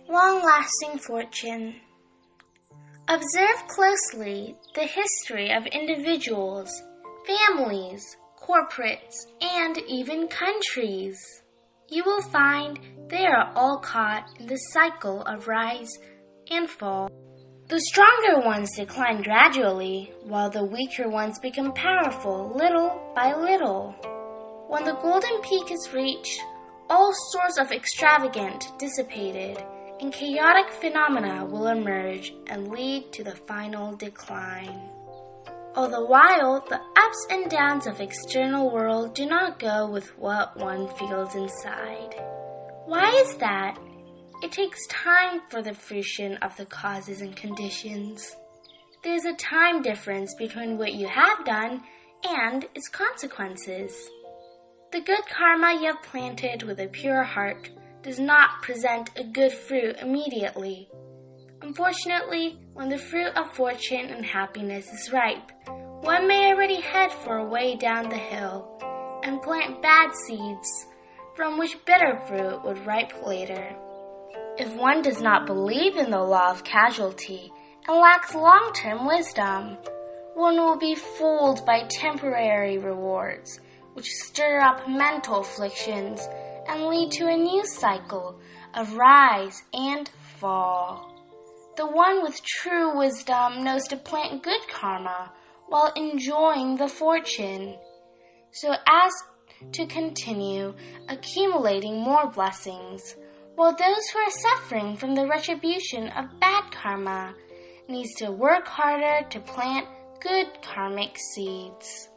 Long-lasting fortune. Observe closely the history of individuals, families, corporates, and even countries. You will find they are all caught in the cycle of rise and fall. The stronger ones decline gradually, while the weaker ones become powerful little by little. When the golden peak is reached, all sorts of extravagant, dissipated, and chaotic phenomena will emerge and lead to the final decline. All the while, the ups and downs of external world do not go with what one feels inside. Why is that? It takes time for the fruition of the causes and conditions. There's a time difference between what you have done and its consequences. The good karma you have planted with a pure heart does not present a good fruit immediately. Unfortunately, when the fruit of fortune and happiness is ripe, one may already head for a way down the hill and plant bad seeds, from which bitter fruit would ripe later. If one does not believe in the law of causality and lacks long-term wisdom, one will be fooled by temporary rewards, which stir up mental afflictions and lead to a new cycle of rise and fall. The one with true wisdom knows to plant good karma while enjoying the fortune, so as to continue accumulating more blessings, while those who are suffering from the retribution of bad karma needs to work harder to plant good karmic seeds.